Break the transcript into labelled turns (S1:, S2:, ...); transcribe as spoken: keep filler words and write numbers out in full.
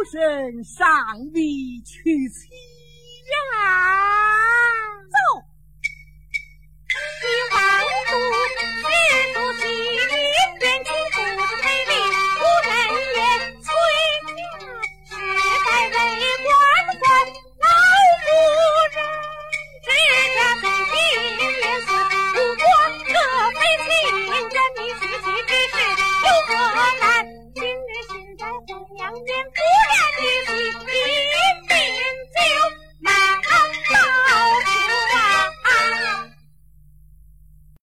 S1: 身上vị娶妻呀！
S2: 走，你王族是不喜变情不知美丽，无人也催嫁，是该为官官老夫人，只家从今连死，如果这非亲人，你娶妻之事有何难？今日现在红娘殿不然一起一并就